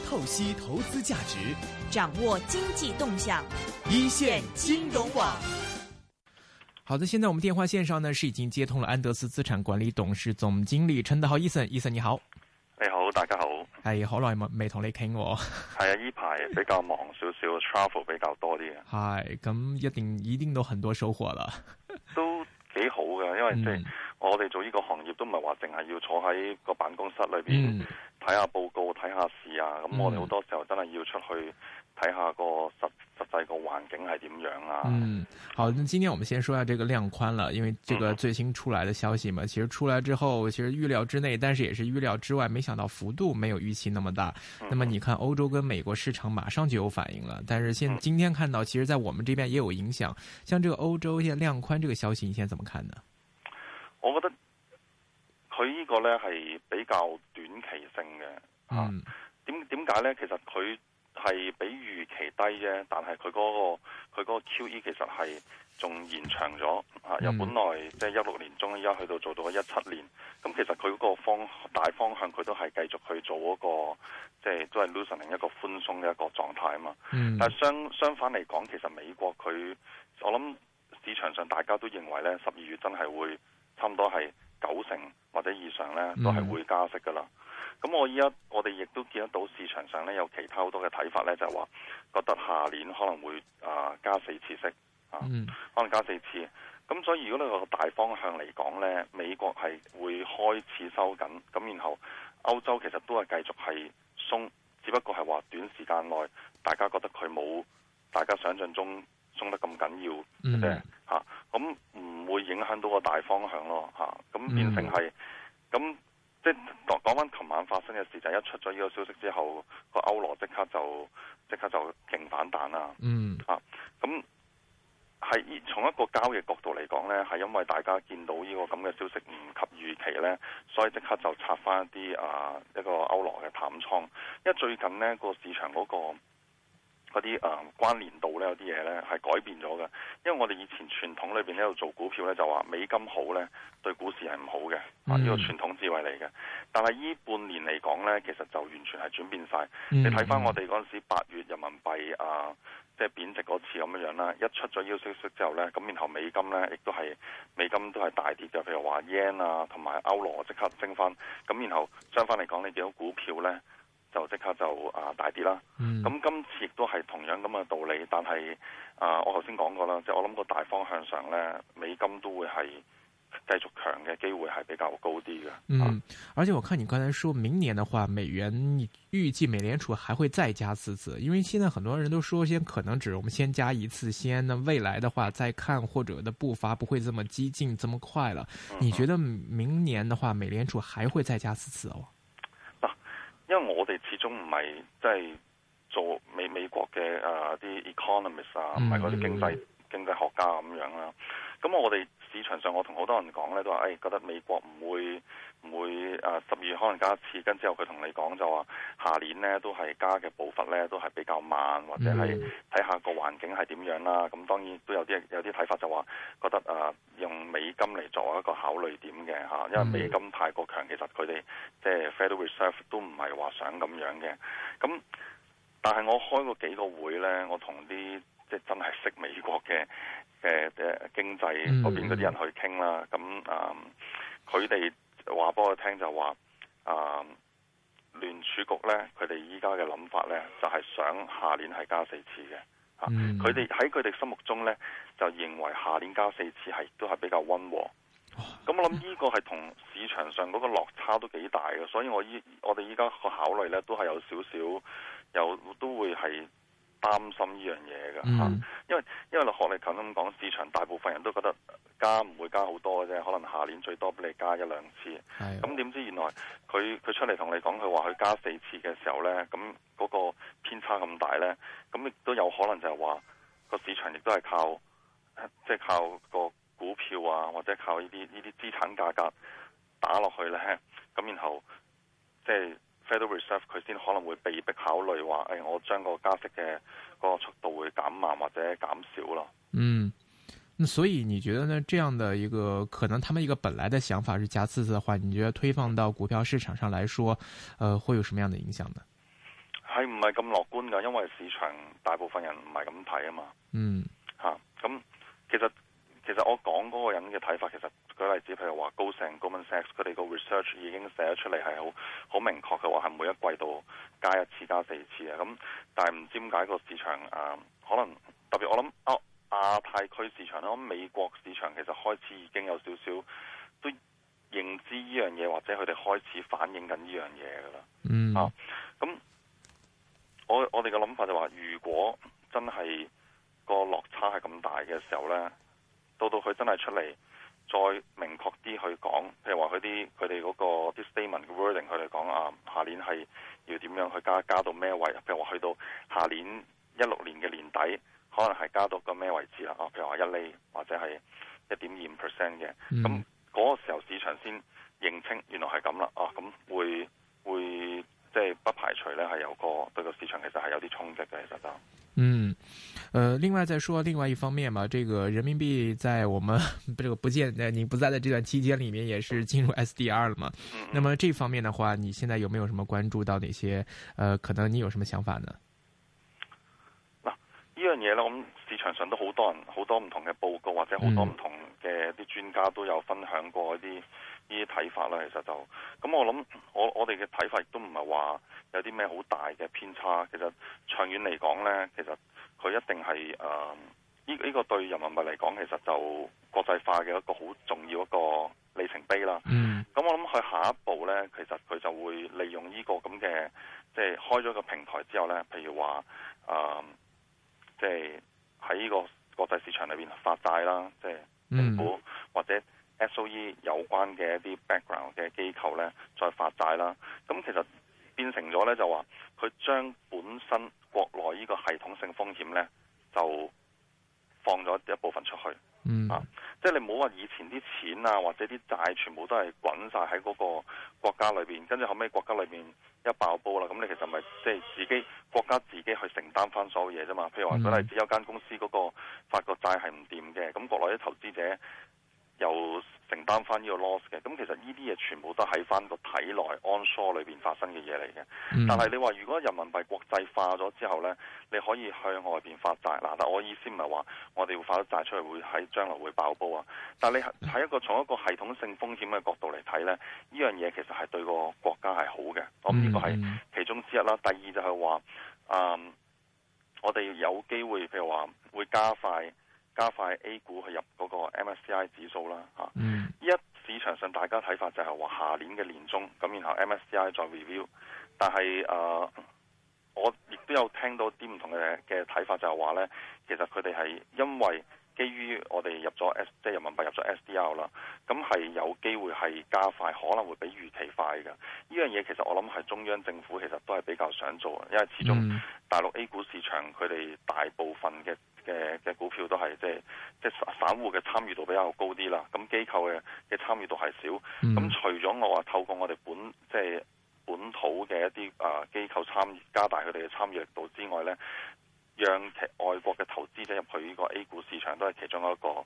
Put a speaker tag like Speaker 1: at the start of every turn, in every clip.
Speaker 1: 透析投資價值，
Speaker 2: 掌握經濟動向，
Speaker 1: 一線金融網。
Speaker 3: 好的，現在我們電話線上呢是已經接通了安德斯資產管理董事總經理陳德豪 Ethan 你好。
Speaker 4: 你好，大家好。
Speaker 3: 係好耐未同你傾喎。
Speaker 4: 係啊，呢排比較忙少少，travel 比較多啲嘅。
Speaker 3: 係，咁一定都很多收穫啦。
Speaker 4: 都幾好嘅，因為即係我哋做呢個行業都唔係話淨係要坐喺個辦公室裏邊睇下報告、睇下事啊。咁我哋好多時候真係要出去睇下個實際個環境係點樣啊。
Speaker 3: 好，那今天我們先說下這個量寬了，因為這個最新出來的消息嘛，其實出來之後，其實預料之內，但是也是預料之外，沒想到幅度沒有預期那麼大。那麼你看歐洲跟美國市場馬上就有反應了，但是今天看到，其實在我們這邊也有影響。像這個歐洲現在量寬這個消息，你現在怎麼看呢？
Speaker 4: 我覺得佢呢個呢係比較短期性嘅。點解呢？其實佢係比預期低啫，但係佢嗰個 QE 其實係仲延長咗由本來即係16年中，依家去到做到17年。咁其實佢嗰個大方向佢都係繼續去做嗰個即係都係 loosening 一個寬鬆嘅一個狀態啊嘛。但係相反嚟講，其實美國佢我諗市場上大家都認為咧12月真係會差唔多係90%或者以上咧都係會加息噶啦。咁我哋亦都見得到市場上咧有其他好多嘅睇法咧，就係話覺得下年可能會加4次息可能加4次。咁所以如果你個大方向嚟講咧，美國係會開始收緊，咁然後歐洲其實都係繼續係鬆，只不過係話短時間內大家覺得佢冇大家想象中鬆得咁緊要嘅咁唔會影響到個大方向咯咁變成係咁。即係講翻琴晚發生嘅事，就係一出咗呢個消息之後，個歐羅即刻就勁反彈啦。咁係從一個交易角度嚟講呢，係因為大家見到呢個咁嘅消息唔及預期呢，所以即刻就拆翻一啲一個歐羅嘅淡倉。因為最近呢個市場嗰啲關聯度呢，有啲嘢呢係改變咗嘅。因為我哋以前傳統裏邊喺度做股票呢，就話美金好呢對股市係唔好嘅，呢個傳統智慧嚟嘅。但係呢半年嚟講呢，其實就完全係轉變晒。你睇翻我哋嗰陣時8月人民幣即係貶值嗰次咁樣啦，一出咗呢個消息之後呢，咁然後美金呢亦都係大跌嘅，譬如話 yen 同埋歐羅即刻升翻。咁然後相反嚟講，你見到股票呢就即刻就大跌啦。咁今次亦都係同樣咁嘅道理，但係我頭先講過啦，即係我諗個大方向上咧，美金都會係繼續強嘅機會係比較高啲嘅。
Speaker 3: 而且我看你剛才說明年的話，美元預計美聯儲還會再加4次，因為現在很多人都說先可能只我們先加1次先，那未來的話再看，或者的步伐不會這麼激進這麼快了。你覺得明年的話，美聯儲還會再加4次哦？
Speaker 4: 因為我哋始終唔係即係做美國嘅啲 economist 唔係嗰啲經濟學家咁樣啦。咁我哋市場上我同好多人講咧，都話覺得美國唔會12月可能加1次，跟之後佢同你講就話下年咧都係加嘅步伐咧都係比較慢，或者係睇下個環境係點樣啦。咁當然都有啲睇法就話覺得用美金嚟作為一個考慮點嘅因為美金太過強，其實佢哋即係 Federal Reserve 都唔係話想咁樣嘅。咁但係我開過幾個會咧，我同啲即係真係識美國嘅經濟嗰邊嗰啲人去傾啦。咁佢哋話俾我聽就話聯儲局咧，佢哋依家嘅諗法咧就係想下年係加4次嘅。佢哋喺佢哋心目中咧就認為下年加4次係都係比較溫和。咁我諗呢個係同市場上嗰個落差都幾大嘅，所以我哋依家個考慮咧都係有少少，都會係擔心呢樣嘢嘅。因為學你頭先咁講，市場大部分人都覺得加唔會加好多嘅啫，可能下年最多俾你加1-2次。咁點知原來佢出嚟同你講，佢話佢加4次嘅時候咧，咁嗰個偏差咁大咧，咁亦都有可能就係話個市場亦都係靠個股票或者靠呢啲資產價格打落去咧，咁然後即係 Federal Reserve 佢先可能會被迫考慮話，我將個加息嘅嗰個速度會減慢或者減少咯。
Speaker 3: 那所以你覺得呢？這樣的一個可能，他們一個本來的想法是加4次的話，你覺得推放到股票市場上來說，會有什麼樣的影響呢？
Speaker 4: 係唔係咁樂觀㗎？因為市場大部分人唔係咁睇啊嘛。咁其實我講嗰個人嘅睇法，其實舉例子，譬如話高盛 Goldman Sachs 佢哋個 research 已經寫咗出嚟，係好明確嘅話，係每一季度加1次加4次啊。咁但係唔知點解個市場可能特別我諗亞太區市場啦，我諗美國市場其實開始已經有少少都認知呢樣嘢，或者佢哋開始反映緊呢樣嘢㗎啦。咁我哋嘅諗法就話，如果真係個落差係咁大嘅時候呢，到佢真係出嚟再明確啲去講，譬如話佢哋嗰個啲 statement 嘅 wording，佢哋講下年係要點樣去加到咩位？譬如話去到下年16年嘅年底，可能係加到個咩位置啦？譬如話1厘或者係1.25% 嘅，咁嗰個時候市場先認清原來係咁啦。咁會即係不排除呢係有對個市場其實係有啲衝擊嘅，其實就。
Speaker 3: 另外再說另外一方面嘛，這個人民幣在我們這個不見你不在的這段期間裏面，也是進入 SDR 了嘛。那麼這方面的話，你現在有沒有什麼關注到哪些？可能你有什麼想法呢？
Speaker 4: 嗱，呢樣嘢呢，咁市場上都好多人好多唔同嘅報告，或者好多唔同嘅啲專家都有分享過呢啲睇法啦。其實就咁，我諗我哋嘅睇法亦都唔係話有啲咩好大嘅偏差。其實長遠嚟講呢，其實佢一定係呢個對人民幣嚟講，其實就國際化嘅一個好重要一個里程碑啦。咁我諗佢下一步呢，其實佢就會利用呢個咁嘅，即係開咗個平台之後呢，譬如話即係喺呢個國際市場裏邊發債啦，即係政府或者 SOE 有關嘅一啲 background 嘅機構呢，再發債啦。咁其實變成咗呢，就話佢將本身國內呢個系統性風險呢，就放咗一部分出去。即係你唔好話以前啲錢啊，或者啲債全部都係滾晒喺嗰個國家裏邊，跟住後尾國家裏邊一爆煲啦，咁你其實咪即係自己國家自己去承擔翻所有嘢啫嘛。譬如話舉例子，有間公司嗰個發個債係唔掂嘅，咁國內啲投資者又承擔翻呢個 loss 嘅，咁其實呢啲嘢全部都喺翻個體內 onshore 裏邊發生嘅嘢嚟嘅。但係你話如果人民幣國際化咗之後呢，你可以向外邊發債嗱，但我意思唔係話我哋會發咗債出去會喺將來會爆煲啊。但係你喺從一個系統性風險嘅角度嚟睇呢，呢樣嘢其實係對個國家係好嘅。咁呢個係其中之一啦。第二就係話我哋有機會譬如話會加快 A 股去入嗰個 MSCI 指數啦。市場上大家睇法就係話下年嘅年中咁，然後 MSCI 再 review。但係我亦都有聽到啲唔同嘅睇法，就係話呢，其實佢哋係因為基於我哋入咗即係人民幣入咗 SDR 啦，咁係有機會係加快，可能會比預期快嘅。呢樣嘢其實我諗係中央政府其實都係比較想做，因為始終大陸 A 股市場佢哋大部分嘅股票都係即係散戶嘅參與度比較高啲啦，咁機構嘅參與度係少。咁除咗我話透過我哋本土嘅一啲機構參與，加大佢哋嘅參與力度之外呢，讓外國嘅投資者入去呢個 A 股市場都係其中一個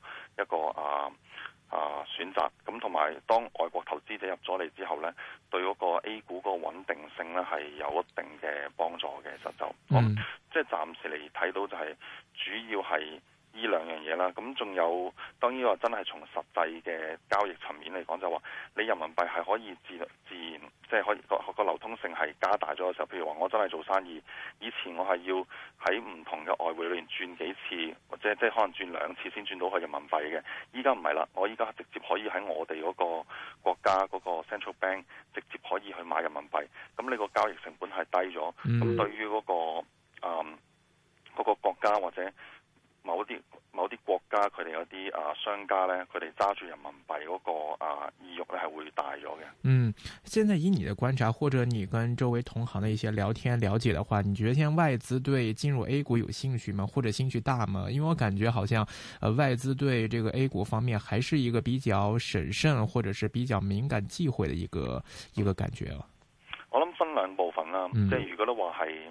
Speaker 4: 選擇。咁同埋當外國投資者入咗嚟之後呢，對嗰個 A 股個穩定性呢係有一定嘅幫助嘅。其實就即係暫時嚟睇到就係主要係呢兩樣嘢啦。咁仲有當然話真係從實際嘅交易層面嚟講，就話你人民幣係可以自然即係可以個流通性係加大咗嘅時候，譬如話我真係做生意，以前我係要喺唔同嘅外匯裏面轉幾次，或者即係可能轉2次先轉到去人民幣嘅。依家唔係啦，我依家直接可以喺我哋嗰個國家嗰個 central bank 直接可以去買人民幣，咁你個交易成本係低咗。咁對於嗰個國家或者某啲國家佢哋有啲商家呢，佢哋揸住人民幣嗰個意欲呢係會大咗嘅。
Speaker 3: 現在以你的觀察，或者你跟周圍同行的一些聊天了解的話，你覺得現在外資對進入 A 股有興趣嗎？或者興趣大嗎？因為我感覺好像外資對這個 A 股方面還是一個比較審慎或者是比較敏感忌諱的一個感覺啊。
Speaker 4: 我諗分兩部分啦，即係如果都話係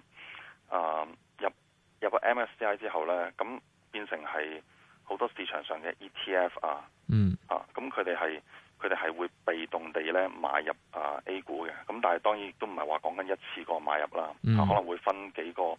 Speaker 4: 入個 MSCI 之後呢，咁變成係好多市場上嘅 ETF 咁佢哋佢哋係會被動地咧買入A 股嘅。咁但係當然都唔係話講緊一次過買入啦，可能會分幾個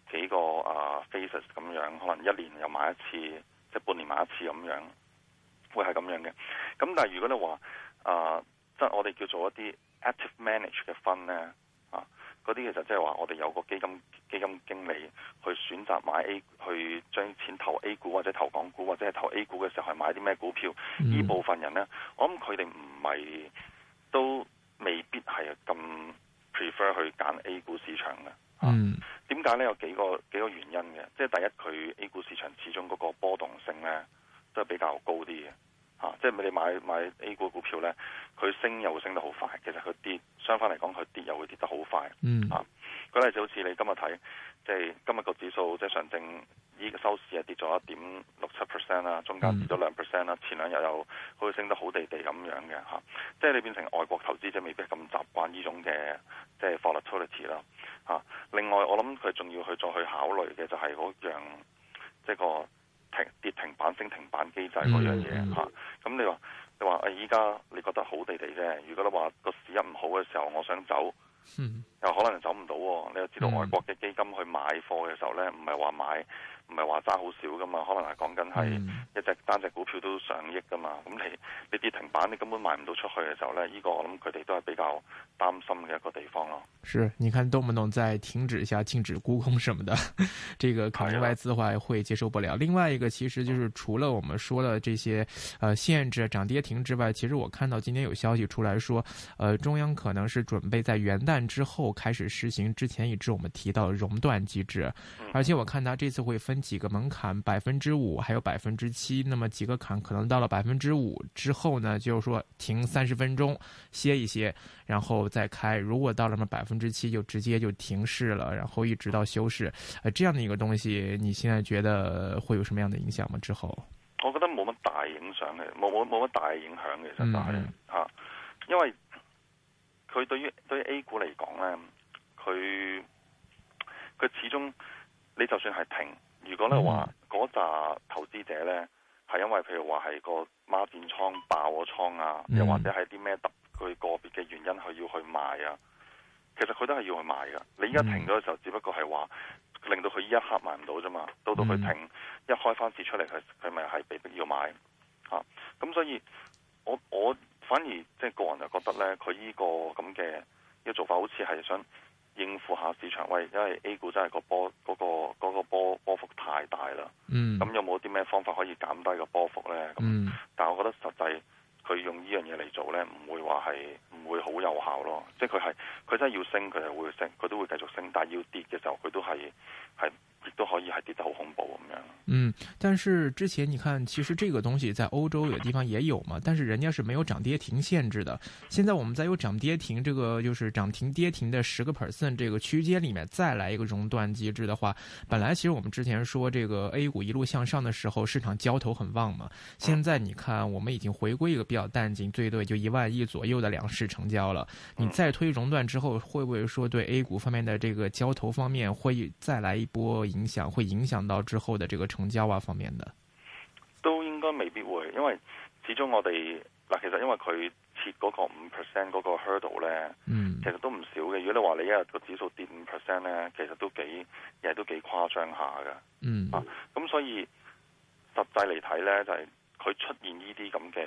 Speaker 4: phases 咁樣，可能一年又買一次，即係半年買一次咁樣，會係咁樣嘅。咁但係如果你話即係我哋叫做一啲 active manage 嘅分咧，嗰啲其實即係話我哋有個基金經理去選擇買 A， 去將錢投 A 股或者投港股或者係投 A 股嘅時候係買啲咩股票？呢部分人咧，我諗佢哋唔係都未必係咁 prefer 去揀 A 股市場嘅。點解咧？有幾個原因嘅。即係第一，佢 A 股市場始終嗰個波動性咧都係比較高啲嘅。即係你買 A 股股票咧，佢升又會升得好快，其實佢跌相反嚟講，佢跌又會跌得好快。舉例就好似你今日睇，即係今日個指數即係上證依個收市係跌咗1.67% 啦，中間跌咗2% 啦，前兩日又好似升得好地地咁樣嘅。即係你變成外國投資者未必咁習慣呢種嘅即係 volatility 啦。另外我諗佢仲要去再去考慮嘅就係嗰樣即係個跌停板升停板機制嗰樣嘢。咁你話依家你覺得好地地啫，如果你話個市一唔好嘅時候我想走，又可能走唔到。你又知道外國嘅基金去買貨嘅時候咧，唔係話揸好少噶嘛，可能係講緊係一單隻股票都上億噶嘛。咁你跌停板，你根本賣唔到出去嘅時候咧，呢個我諗佢哋都係比較擔心嘅一個地方咯。
Speaker 3: 是，你看動不動再停止一下、禁止沽空什麼的，這個可能外資的話會接受不了。另外一個，其實就是除了我們說的這些限制漲跌停之外，其實我看到今天有消息出來說，中央可能是準備在元旦之後開始實行之前一直我們提到的熔斷機制，而且我看它這次會分幾個門檻，5%還有7%，那麼幾個坎可能到了5%之後呢，就是說停30分鐘歇一歇，然後再開。如果到了7%就直接就停市了，然後一直到休市，這樣的一個東西，你現在覺得會有什麼樣的影響嗎？之後
Speaker 4: 我覺得冇乜大影響嘅，冇乜大影響嘅，其實就係因為佢對於 A 股嚟講咧，佢始終你就算係停，如果你話嗰紮投資者咧係因為譬如話係個孖展倉爆咗倉啊，又或者係啲咩佢個別嘅原因佢要去賣啊，其實佢都係要去賣噶。你依家停咗嘅時候，只不過係話令到佢依一刻賣唔到啫嘛。到佢停一開翻市出嚟，佢咪係被逼要買咁所以我反而即係個人就覺得咧，佢呢個咁嘅一個做法，好似係想應付下市場。喂，因為 A 股真係個波幅太大啦。咁有冇啲咩方法可以減低個波幅咧？但係我覺得實際佢用呢樣嘢嚟做咧，唔會好有效咯。即係佢真係要升，佢係會升，佢都會繼續升。但係要跌嘅時候，佢都亦都可以係跌得好恐怖咁樣。
Speaker 3: 但是之前你看，其實這個東西在歐洲有的地方也有嘛，但是人家是沒有漲跌停限制的。現在我們再有漲跌停，這個就是漲停跌停的10%這個區間裏面再來一個熔斷機制的話，本來其實我們之前說這個 A 股一路向上的時候，市場交投很旺嘛。現在你看，我們已經回歸一個比較淡靜，最多也就1萬億左右的兩市成交了。你再推熔斷之後，會不會說對 A 股方面的這個交投方面會再來一波影響，會影響到之後的這個成交啊方面的？
Speaker 4: 都應該未必會，因為始終我哋其實因為佢設嗰個5% 嗰個 hurdle 咧，其實都唔少嘅。如果你話你一日個指數跌5% 咧，其實都幾誇張下嘅。咁所以實際嚟睇咧，就係佢出現呢啲咁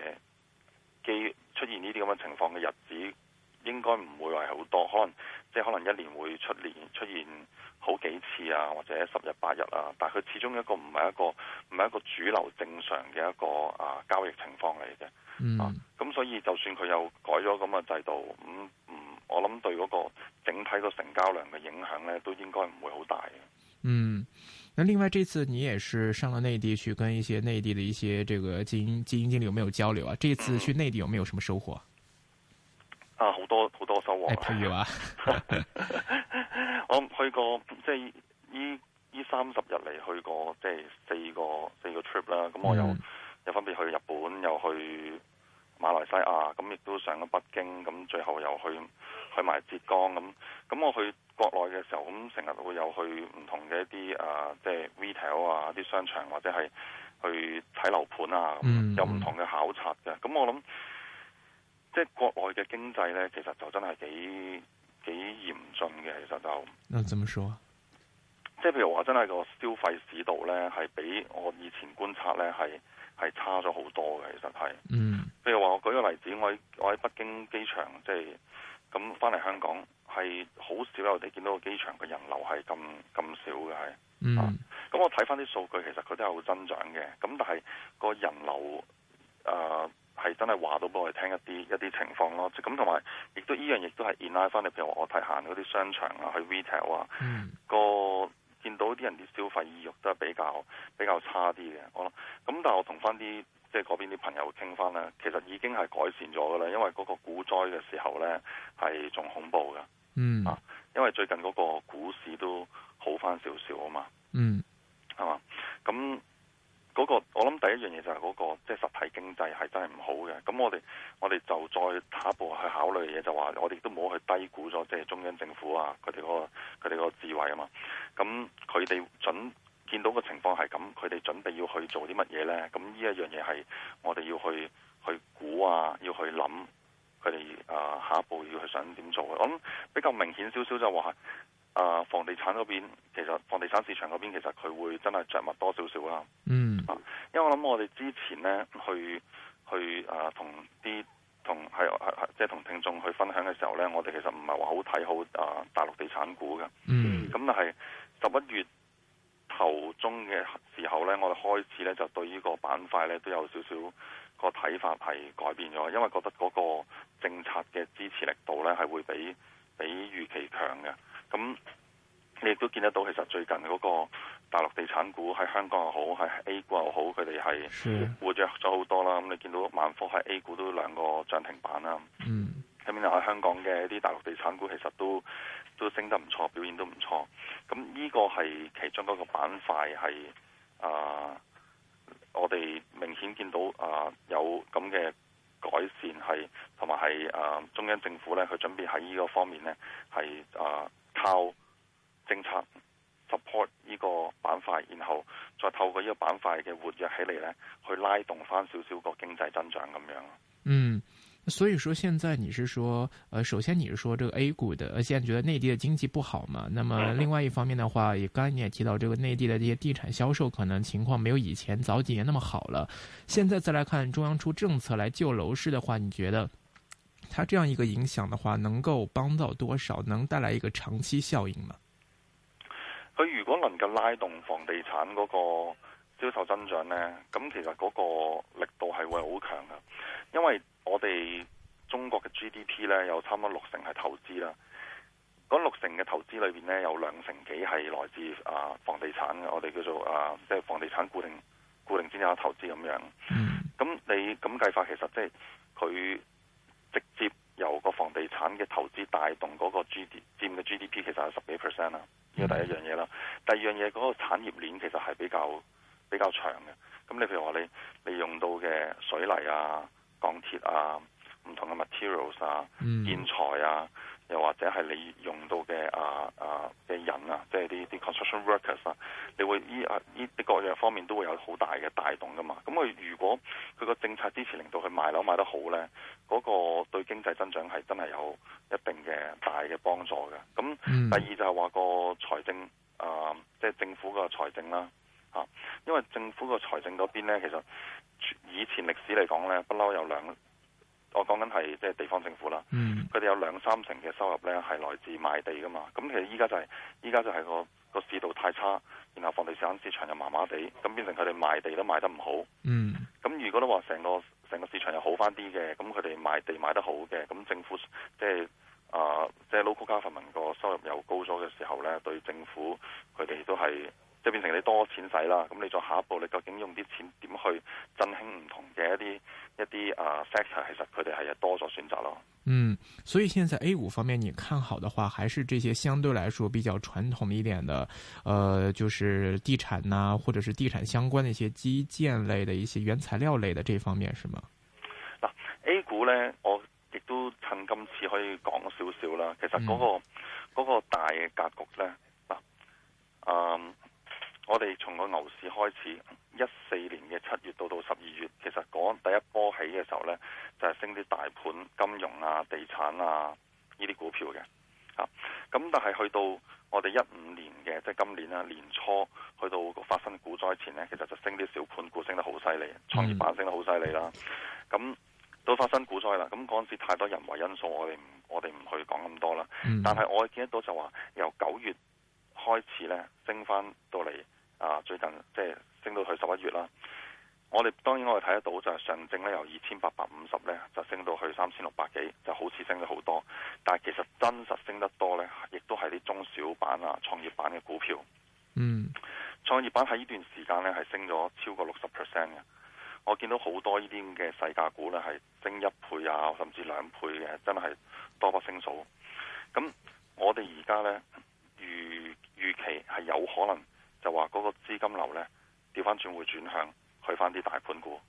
Speaker 4: 嘅情況嘅日子，應該唔會話好多，可能一年會出現好幾次啊，或者10日8日啊，但係佢始終唔係一個主流正常嘅一個交易情況嚟嘅。咁所以就算佢又改咗咁嘅制度，我諗對嗰個整體個成交量嘅影響咧，都應該唔會好大嘅。
Speaker 3: 那另外這次你也是上了內地去跟一些內地的一些這個基金經理有沒有交流啊？這次去內地有沒有什麼收穫？
Speaker 4: 好多收穫。
Speaker 3: 譬如話，
Speaker 4: 我去過即係呢30日嚟去過即係四個 trip 啦。咁我又分別去日本，又去馬來西亞，咁亦都上咗北京，咁最後又去埋浙江咁我去國內嘅時候，咁成日會有去唔同嘅一啲即係 retail 啊，啲商場或者係去睇樓盤啊，有唔同嘅考察嘅。咁我諗即係國內嘅經濟咧，其實就真係幾嚴峻嘅。其實就
Speaker 3: 那怎麼說？
Speaker 4: 即係譬如話，真係個消費市道咧，係比我以前觀察咧係差咗好多嘅。其實係，譬如話我舉個例子，我喺北京機場，即係咁翻嚟香港，係好少有你見到個機場嘅人流係咁少嘅係。咁我睇翻啲數據，其實佢都有增長嘅。咁但係個人流係真係話到俾我哋聽一啲情況咯。咁同埋亦都依樣亦都係 in line 翻你，譬如話我睇行嗰啲商場啊，去 retail 啊，見到啲人啲消費意欲都係比較差啲嘅。我諗咁，但係我同翻啲即係嗰邊啲朋友傾翻咧，其實已經係改善咗噶啦。因為嗰個股災嘅時候咧係仲恐怖嘅。因為最近嗰個股市都好翻少少啊嘛。係嘛？咁嗰個我諗第一樣嘢就係嗰個即係實體經濟係真係唔好嘅。咁我哋就再下一步去考慮嘅嘢就話，我哋都唔好去低估咗即係中央政府啊佢哋個智慧啊嘛。咁佢哋見到個情況係咁，佢哋準備要去做啲乜嘢咧？咁呢一樣嘢係我哋要去估啊，要去諗佢哋下一步要去想點做嘅。我諗比較明顯少少就話房地產嗰邊，其實房地產市場嗰邊其實佢會真係着墨多少少啦。因為我諗我哋之前咧去同聽眾去分享嘅時候咧，我哋其實唔係話好睇好大陸地產股嘅。咁但係11月頭中嘅時候咧，我哋開始咧就對呢個板塊咧都有少少個睇法係改變咗，因為覺得嗰個政策嘅支持力度咧係會比預期強嘅。咁你亦都見得到，其實最近嗰個大陸地產股喺香港又好，喺 A 股又好，佢哋係活躍咗好多啦。咁你見到萬科喺 A 股都兩個漲停板啦。咁然後喺香港嘅一啲大陸地產股其實都升得唔錯，表現都唔錯。咁呢個係其中一個板塊係我哋明顯見到有咁嘅改善，係同埋係中央政府咧，佢準備喺呢個方面咧係靠政策 support 呢個板塊，然後再透過呢個板塊嘅活躍起嚟咧，去拉動翻少少個經濟增長咁樣。
Speaker 3: 所以說現在你是說，首先你是說這個 A 股的，現在覺得內地的經濟不好嘛？那麼另外一方面的話，也剛才你也提到，這個內地的這些地產銷售可能情況沒有以前早幾年那麼好了。現在再來看中央出政策來救樓市的話，你覺得它這樣一個影響的話，能夠幫到多少？能帶來一個長期效應嗎？
Speaker 4: 佢如果能夠拉動房地產嗰個銷售增長呢，咁其實嗰個力度係會好強㗎，因為我哋中國嘅 GDP 呢，有差唔多60%係投資啦，嗰60%嘅投資裏邊呢，有2成幾係來自房地產嘅，我哋叫做即係房地產固定資產投資咁樣。咁你咁計法，其實即係佢直接由個房地產嘅投資帶動嗰個佔嘅 GDP 其實係10幾%啦，呢個第一樣嘢啦。第二樣嘢嗰個產業鏈其實係比較長嘅。咁你譬如話你用到嘅水泥啊、鋼鐵啊、唔同嘅 materials 啊、建材啊，又或者係你用到嘅嘅人啊，即係啲 construction workers 啊，你會呢各樣方面都會有好大嘅帶動噶嘛。咁佢如果佢個政策支持令到佢賣樓賣得好咧，嗰個對經濟增長係真係有一定嘅大嘅幫助嘅。咁第二就係話個財政即係政府個財政啦。因為政府個財政嗰邊咧，其實以前歷史嚟講咧，不嬲有我講緊係即係地方政府啦，佢哋有2-3成嘅收入咧係來自賣地噶嘛。咁其實依家就係個市道太差，然後房地產市場又麻麻地，咁變成佢哋賣地都賣得唔好。咁如果都話成個市場又好翻啲嘅，咁佢哋賣地賣得好嘅，咁政府即係 local government 個收入又高咗嘅時候咧，對政府佢哋都係。即係變成你多錢使啦，咁你再下一步，你究竟用啲錢點去振興唔同嘅一啲sector，其實佢哋係多咗選擇咯。
Speaker 3: 所以現在 A 股方面，你看好的話，還是這些相對來說比較傳統一點的，就是地產啊，或者是地產相關的一些基建類的一些原材料類的這方面，是嗎？
Speaker 4: 嗱，A 股咧，我亦都趁今次可以講少少啦。其實嗰個大嘅格局咧， 我哋從個牛市開始，14年嘅7月到12月，其實講第一波起嘅時候呢，就係升啲大盤、金融啊、地產啊呢啲股票嘅。咁但係去到我哋15年嘅，即係今年啦，年初去到發生股災前呢，其實就升啲小盤股升得好犀利，創業板升得好犀利啦。咁到發生股災啦，咁嗰陣時太多人為因素，我哋唔去講咁多啦。但係我見得到就話由9月開始呢，升翻到嚟最近即係升到去11月啦。當然我哋睇得到就係上證咧由2850咧就升到去3600幾，就好似升咗好多。但係其實真實升得多咧，亦都係啲中小板啊、創業板嘅股票。創業板喺呢段時間咧係升咗超過60% 嘅。我見到好多呢啲嘅細價股咧係升1倍啊，甚至2倍嘅，真係多不勝數。咁我哋而家咧預期係有可能就話嗰個資金流咧調翻轉會轉向。去翻啲大盤股，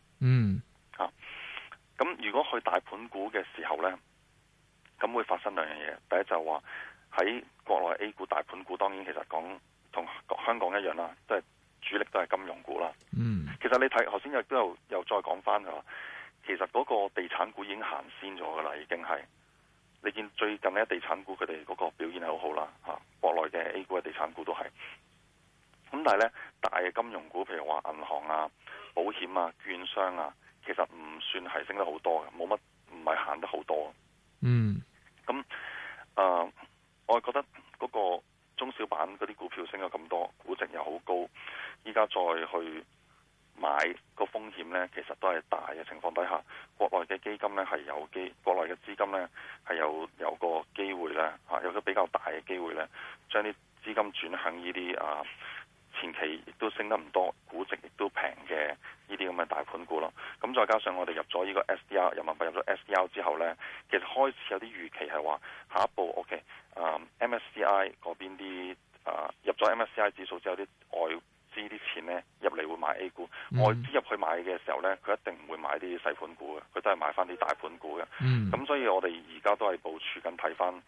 Speaker 4: 咁如果去大盤股嘅時候呢，咁會發生兩樣嘢。第一就話喺國內 A 股大盤股，當然其實講同香港一樣啦，即係主力都係金融股啦。其實你睇頭先亦都又再講翻㗎，其實嗰個地產股已經行先咗㗎啦，已經係你見最近呢地產股佢哋嗰個表現係好好啦，國內嘅 A 股嘅地產股都係。咁但係呢，大嘅金融股，譬如話銀行啊、保險啊、券商啊，其實唔算係升得好多嘅，冇乜，唔係行得好多。咁我係覺得嗰個中小板嗰啲股票升咗咁多，估值又好高，依家再去買個風險呢，其實都係大嘅情況底下，國內嘅基金呢係國內嘅資金呢係有個機會呢，有個比較大嘅機會呢，將啲資金轉向呢啲前期亦都升得唔多，估值亦都平嘅呢啲咁嘅大盤股咯。咁再加上我哋入咗呢個 SDR 人民幣入咗 SDR 之後呢，其實開始有啲預期係話下一步 MSCI 嗰邊啲入咗 MSCI 指數之後啲外資啲錢呢入嚟會買 A 股，外資入去買嘅時候呢，佢一定唔會買啲細盤股嘅，佢都係買翻啲大盤股嘅。咁所以我哋而家都係部署緊睇翻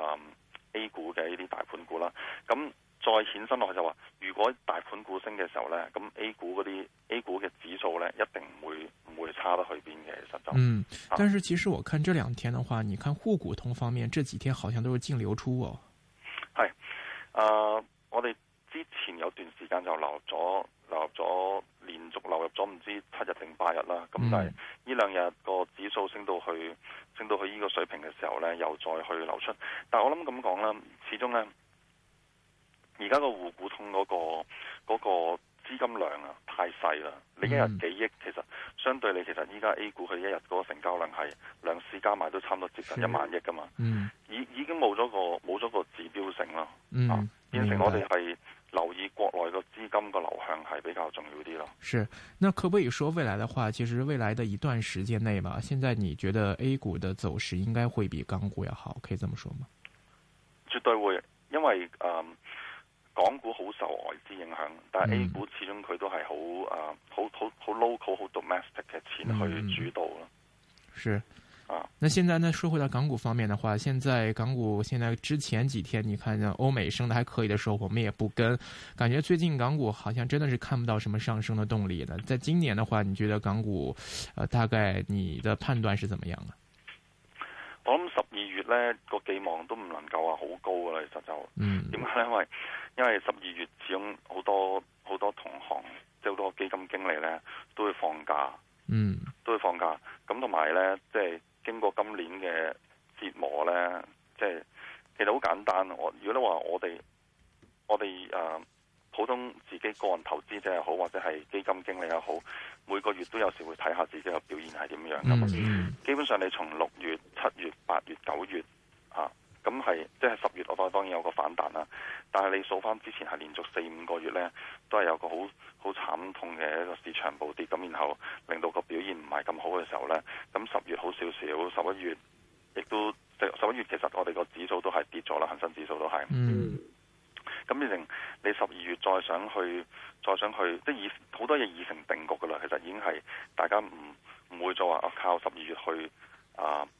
Speaker 4: A 股嘅呢啲大盤股啦。咁再衍生落去就話，如果大盤股升嘅時候呢，咁 A 股嘅指數呢，一定唔會差得去邊嘅，其實就。
Speaker 3: 但是其實我看這兩天的話，你看滬股通方面，這幾天好像都是淨流出哦。
Speaker 4: 係，我哋之前有段時間就流入咗，連續流入咗唔知7日定8日啦。咁但係呢兩日個指數升到去呢個水平嘅時候呢，又再去流出。但係我諗咁講啦，始終呢。而家個滬股通嗰個資金量太細啦，你一日幾億，其實相對你其實依家 A 股佢一日嗰個成交量係兩市加埋都差唔多接近1萬億噶嘛，已經冇咗個指標性咯，變成我哋係留意國內個資金個流向係比較重要啲咯。
Speaker 3: 是，那可不可以說未來的話，其實未來的一段時間內嘛，現在你覺得 A 股的走勢應該會比港股要好，可以這麼說嗎？
Speaker 4: 絕對會，因為港股好受外資影響，但係 A 股始終佢都係好 local 好 domestic 嘅錢去主導咯。
Speaker 3: 是那現在呢，說回到港股方面的話，現在港股現在之前幾天，你看歐美升得還可以的時候，我們也不跟，感覺最近港股好像真的是看不到什麼上升的動力的。在今年的話，你覺得港股大概你的判斷是怎麼樣啊？
Speaker 4: 我諗12月呢個寄望都唔能夠話好高噶啦，其實就點解呢？因為12月始終好多同行，即係好多基金經理呢都會放假，都會放假。咁同埋呢，即係經過今年嘅折磨呢，即係其實好簡單。如果你話我哋普通自己個人投資者又好，或者係基金經理又好，每個月都有時會睇下自己嘅表現係點樣㗎。基本上你從6月、7月、8月、9月咁係即係10月，我當然有個反彈啦。但係你數翻之前係連續4-5個月呢，都係有個好慘痛嘅一個市場暴跌，咁然後令到個表現唔係咁好嘅時候呢，咁10月好少少，11月亦都11月其實我哋個指數都係跌咗啦，恒生指數都係。咁變成你12月再想去，即係好多嘢已成定局噶啦。其實已經係大家唔會再話靠12月去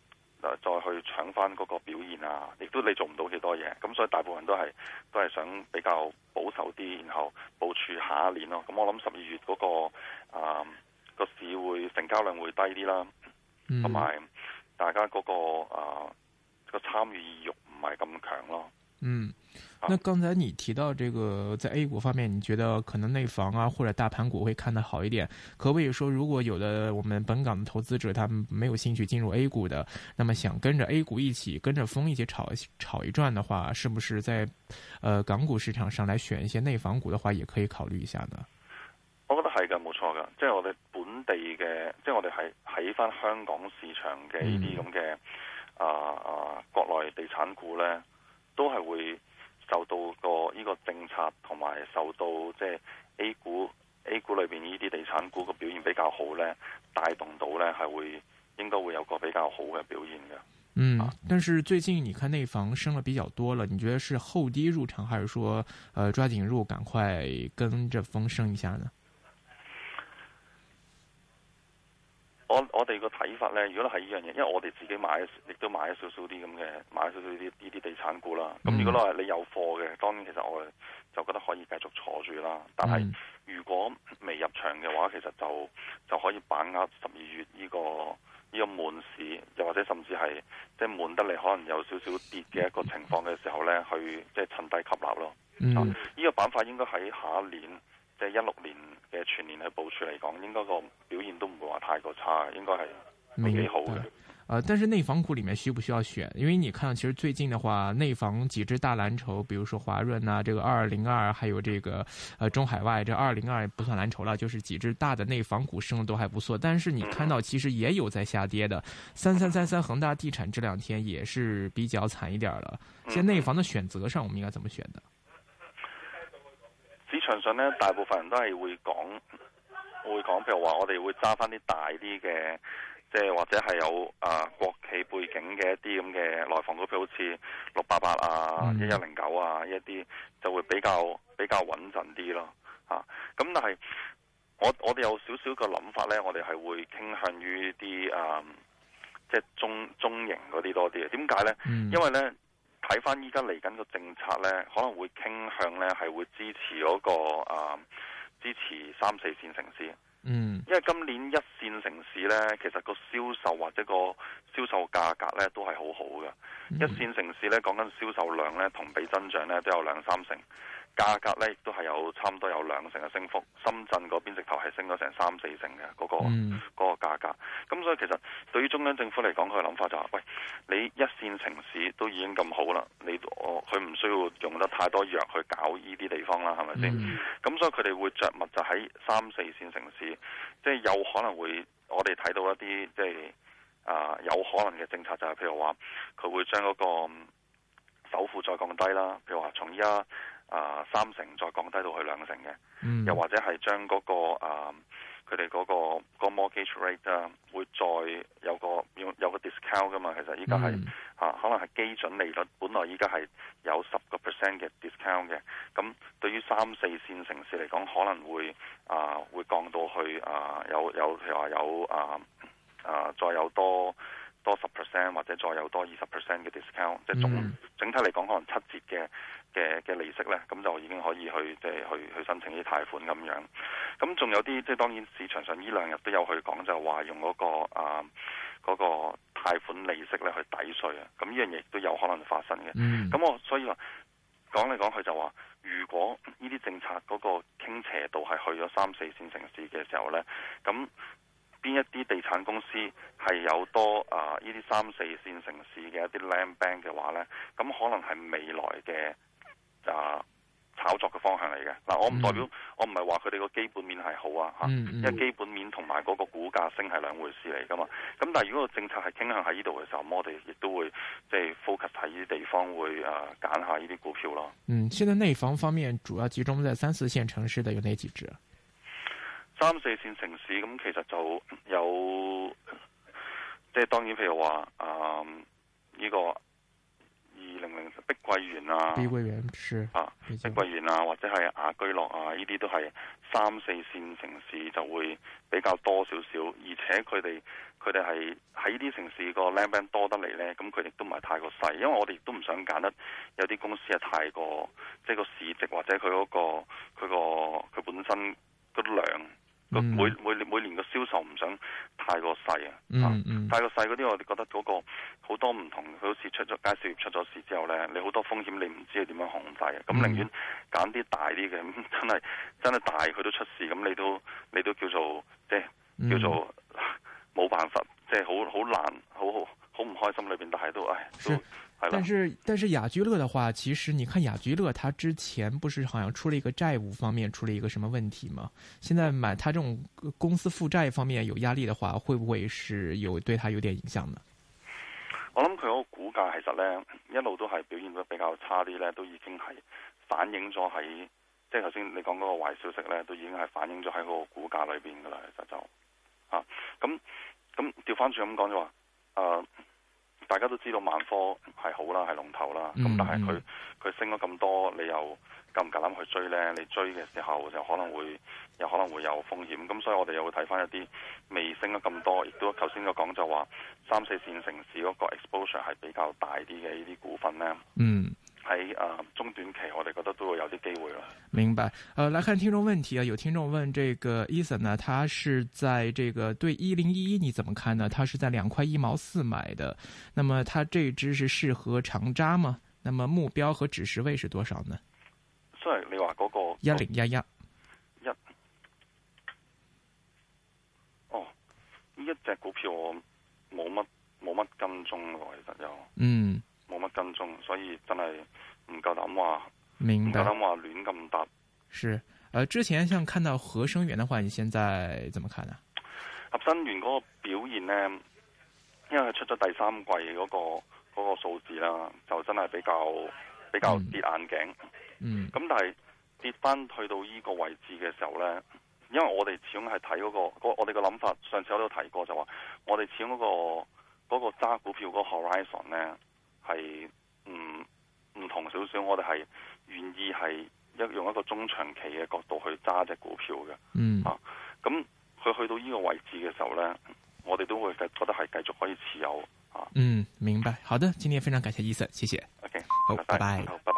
Speaker 4: 再去搶翻嗰個表現啊，亦都你做唔到幾多嘢，咁所以大部分都係想比較保守啲，然後部署下一年咯。咁我諗12月嗰個市會成交量會低啲啦，同埋大家嗰個參與意欲唔係咁強咯。
Speaker 3: 那剛才你提到這個在 A 股方面，你覺得可能內房啊或者大盤股會看得好一點，可不可以說如果有的我們本港的投資者他們沒有興趣進入 A 股的，那麼想跟着 A 股一起跟着風一起炒一轉的話，是不是在港股市場上來選一些內房股的話也可以考慮一下呢？
Speaker 4: 我覺得係㗎，冇錯㗎，即係我哋本地嘅，即係我哋係喺翻香港市場嘅呢啲咁嘅國內地產股呢，都係會受到呢個政策同埋受到即係 A 股裏邊呢啲地產股嘅表現比較好呢，帶動到呢係應該會有個比較好嘅表現嘅。
Speaker 3: 但是最近你看內房升了比較多了，你覺得是後低入場，還是說抓緊入，趕快跟着風升一下呢？
Speaker 4: 我哋個睇法呢，如果係呢樣嘢，因為我哋自己亦都買咗少少啲咁嘅，買咗少少呢啲地產股啦。咁如果你有貨嘅，當然其實我哋就覺得可以繼續坐住啦。但係如果未入場嘅話，其實就可以把握12月呢個悶市，又或者甚至係即係悶得嚟可能有少少跌嘅一個情況嘅時候呢，去即係趁低吸納咯。呢個板塊應該喺下一年，即係16年嘅全年去部署嚟講，應該個表現都唔會話太過差，應該係會幾好嘅。
Speaker 3: 但是內房股裡面需不需要選？因為你看，其實最近的話，內房幾隻大藍籌，比如說華潤啊，這個2202，還有這個中海外，這202不算藍籌了，就是幾隻大的內房股升得都還不錯。但是你看到其實也有在下跌的，3333恒大地產這兩天也是比較慘一點了。現在內房的選擇上，我們應該怎麼選呢？
Speaker 4: 市場上呢，大部分人都係會講，譬如話我哋會揸翻啲大啲嘅。即係或者係有國企背景嘅一啲咁嘅內房股票，好似688啊、1109啊，一啲就會比較穩陣啲咯。咁但係我哋有少少個諗法呢，我哋係會傾向於啲即係中型嗰啲多啲嘅。點解呢？因為呢，睇翻依家嚟緊個政策呢，可能會傾向呢係會支持嗰個支持3、4線城市。因為今年1線城市呢，其實個銷售或者個銷售價格呢都係好好嘅。1線城市呢，講緊銷售量呢，同比增長呢都有2-3成，價格呢亦都係有差唔多有2成嘅升幅。深圳嗰邊直頭係升咗成3-4成嘅嗰個價格。咁所以其實對於中央政府嚟講，佢嘅諗法就係：喂，你1線城市都已經咁好啦，佢唔需要用得太多藥去搞呢啲地方啦，係咪先？咁所以佢哋會着墨就喺3、4線城市，即係有可能會我哋睇到一啲即係有可能嘅政策，就係譬如話佢會將嗰個首付再降低啦，譬如話從依家3成再降低到去2成嘅，又或者係將嗰個佢哋嗰個 mortgage rate 啊，會再有個 discount 噶嘛。其實依家係可能係基準利率，本來依家係有10% 嘅 discount 嘅。咁對於3、4線城市嚟講，可能會降到去有譬如話有再有多10%或者再有多20% 嘅 discount，即係整體嚟講可能7折嘅利息咧，咁就已經可以去申請啲貸款咁樣。咁仲有啲即係當然市場上呢2日都有去講，就話用嗰個貸款利息咧去抵稅啊。咁呢樣嘢亦都有可能發生嘅。咁我所以話講嚟講去就話，如果呢啲政策嗰個傾斜度係去咗3、4線城市嘅時候咧，咁邊一啲地產公司係有多呢啲3、4線城市嘅一啲 land bank 嘅話咧，咁可能係未來嘅炒作嘅方向嚟嘅。我唔代表我唔係話佢哋個基本面係好啊，因為基本面同埋嗰個股價升係兩回事嚟噶嘛。咁但係如果個政策係傾向喺呢度嘅時候，我哋亦都會即係 focus 喺呢啲地方，會揀下呢啲股票咯。
Speaker 3: 現在內房方面主要集中在3、4線城市的有哪幾隻
Speaker 4: ？3、4線城市咁其實就有即係當然譬如話呢個200碧桂園啊，
Speaker 3: 碧桂園是
Speaker 4: 碧桂園啊，或者係雅居樂啊，呢啲都係3、4線城市就會比較多少少，而且佢哋係喺呢啲城市個 land bank 多得嚟呢，咁佢哋都唔係太過細，因為我哋亦都唔想揀得有啲公司係太過即係個市值或者佢本身個量。每年個銷售唔想太過細太過細嗰啲我哋覺得嗰個好多唔同，佢好似出咗介紹業出咗事之後呢，你好多風險你唔知係點樣控制嘅，咁寧願揀啲大啲嘅，真係大佢都出事，咁你都叫做即係叫做冇辦法，即係好難，好唔開心裏邊，但係都
Speaker 3: 但是雅居樂的話，其實你看雅居樂，它之前不是好像出了一個債務方面出了一個什麼問題嗎？現在買它這種公司負債方面有壓力的話，會不會是對它有點影響呢？
Speaker 4: 我諗佢嗰個股價其實呢，一路都係表現得比較差啲呢，都已經係反映咗喺即係頭先你講嗰個壞消息呢，都已經係反映咗喺嗰個股價裏邊噶啦，其實就咁調翻轉咁講就話大家都知道萬科係好啦，係龍頭啦。咁但係佢升咗咁多，你又夠唔夠膽去追呢？你追嘅時候就可能會有風險。咁所以我哋又會睇翻一啲未升咗咁多，亦都頭先個講就話3、4線城市嗰個 exposure 係比較大啲嘅呢啲股份呢。喺中短期我哋覺得都會有啲機會啦。
Speaker 3: 明白。來看聽眾問題啊，有聽眾問這個 Ethan 呢，他是在這個對1011你怎麼看呢？他是在2塊1毛4買的，那麼他這支是適合長揸嗎？那麼目標和止蝕位是多少呢？
Speaker 4: 所以你話嗰個
Speaker 3: 1011
Speaker 4: 呢一隻股票我冇乜跟蹤喎，其實就冇乜跟蹤，所以真係唔夠膽話，
Speaker 3: 明白，
Speaker 4: 唔夠膽話亂咁答。
Speaker 3: 是，之前像看到合生元的話，你現在怎麼看呢？
Speaker 4: 合生元嗰個表現呢，因為佢出咗第3季嗰個數字啦，就真係比較跌眼鏡。咁但係跌翻去到呢個位置嘅時候呢，因為我哋始終係睇嗰個我哋嘅諗法，上次我都提過就話，我哋始終嗰個揸股票嗰個 horizon 呢。係唔同少少，我哋係願意係用一個中長期嘅角度去揸隻股票嘅。咁佢去到呢個位置嘅時候呢，我哋都會覺得係繼續可以持有。
Speaker 3: 明白。好的，今天非常感謝Ethan，謝謝。
Speaker 4: OK，
Speaker 3: 好，拜拜。